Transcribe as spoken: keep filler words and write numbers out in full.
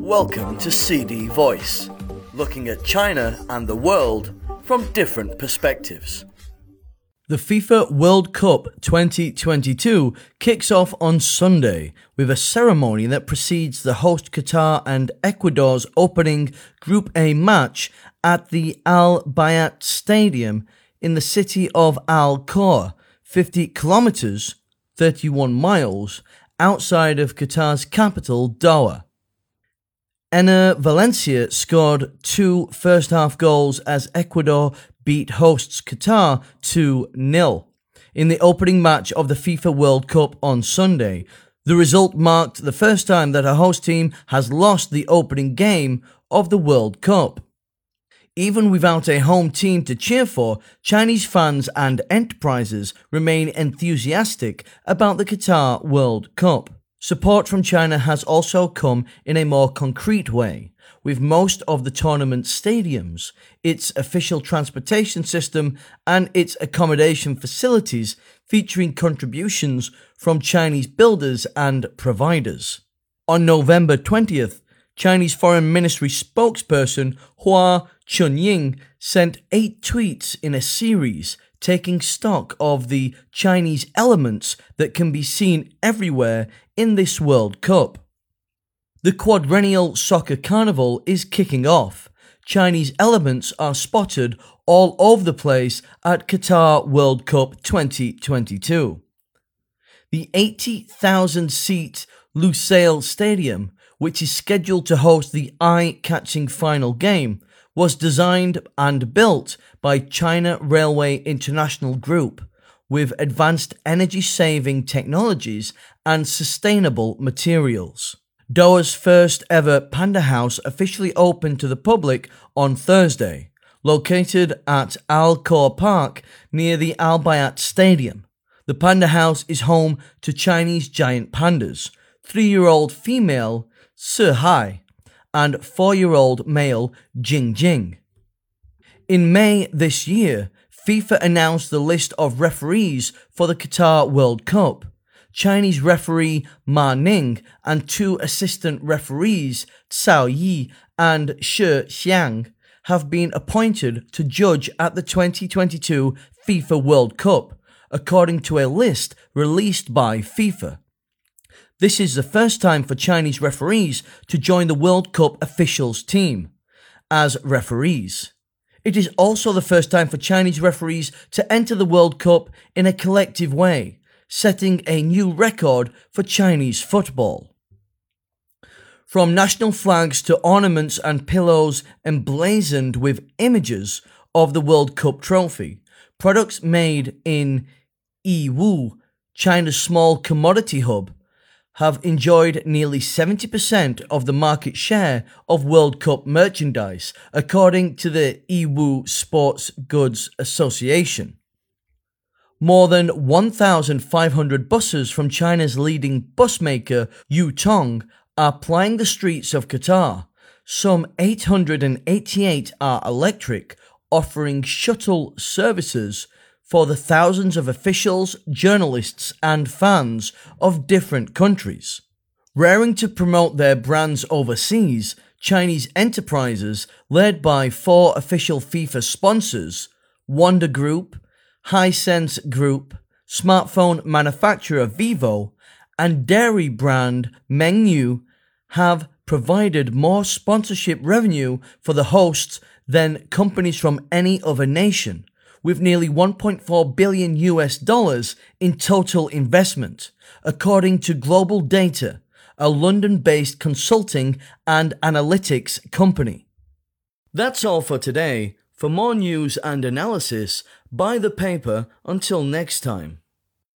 Welcome to C D Voice, looking at China and the world from different perspectives. The FIFA World Cup twenty twenty-two kicks off on Sunday with a ceremony that precedes the host Qatar and Ecuador's opening Group A match at the Al Bayat Stadium in the city of Al Khor, fifty kilometers, thirty-one miles, outside of Qatar's capital, Doha. Enner Valencia scored two first-half goals as Ecuador beat hosts Qatar two nil in the opening match of the FIFA World Cup on Sunday. The result marked the first time that a host team has lost the opening game of the World Cup. Even without a home team to cheer for, Chinese fans and enterprises remain enthusiastic about the Qatar World Cup. Support from China has also come in a more concrete way, with most of the tournament's stadiums, its official transportation system, and its accommodation facilities featuring contributions from Chinese builders and providers. On November twentieth, Chinese Foreign Ministry spokesperson Hua Chunying sent eight tweets in a series taking stock of the Chinese elements that can be seen everywhere in this World Cup. The quadrennial soccer carnival is kicking off. Chinese elements are spotted all over the place at Qatar World Cup twenty twenty-two. The eighty thousand seat Lusail Stadium, which is scheduled to host the eye-catching final game, was designed and built by China Railway International Group with advanced energy-saving technologies and sustainable materials. Doha's first ever Panda House officially opened to the public on Thursday, located at Al Khor Park near the Al Bayat Stadium. The Panda House is home to Chinese giant pandas, three-year-old female Sihai and four-year-old male Jingjing. In May this year, FIFA announced the list of referees for the Qatar World Cup. Chinese referee Ma Ning and two assistant referees, Cao Yi and Shi Xiang, have been appointed to judge at the twenty twenty-two FIFA World Cup, according to a list released by FIFA. This is the first time for Chinese referees to join the World Cup officials team as referees. It is also the first time for Chinese referees to enter the World Cup in a collective way, setting a new record for Chinese football. From national flags to ornaments and pillows emblazoned with images of the World Cup trophy, products made in Yiwu, China's small commodity hub, have enjoyed nearly seventy percent of the market share of World Cup merchandise, according to the Yiwu Sports Goods Association. More than one thousand five hundred buses from China's leading bus maker Yutong are plying the streets of Qatar. Some eight hundred eighty-eight are electric, offering shuttle services for the thousands of officials, journalists and fans of different countries. Raring to promote their brands overseas, Chinese enterprises, led by four official FIFA sponsors, Wanda Group, Hisense Group, smartphone manufacturer Vivo, and dairy brand Mengniu, have provided more sponsorship revenue for the hosts than companies from any other nation, with nearly one point four billion U S dollars in total investment, according to Global Data, a London-based consulting and analytics company. That's all for today. For more news and analysis, buy the paper. Until next time.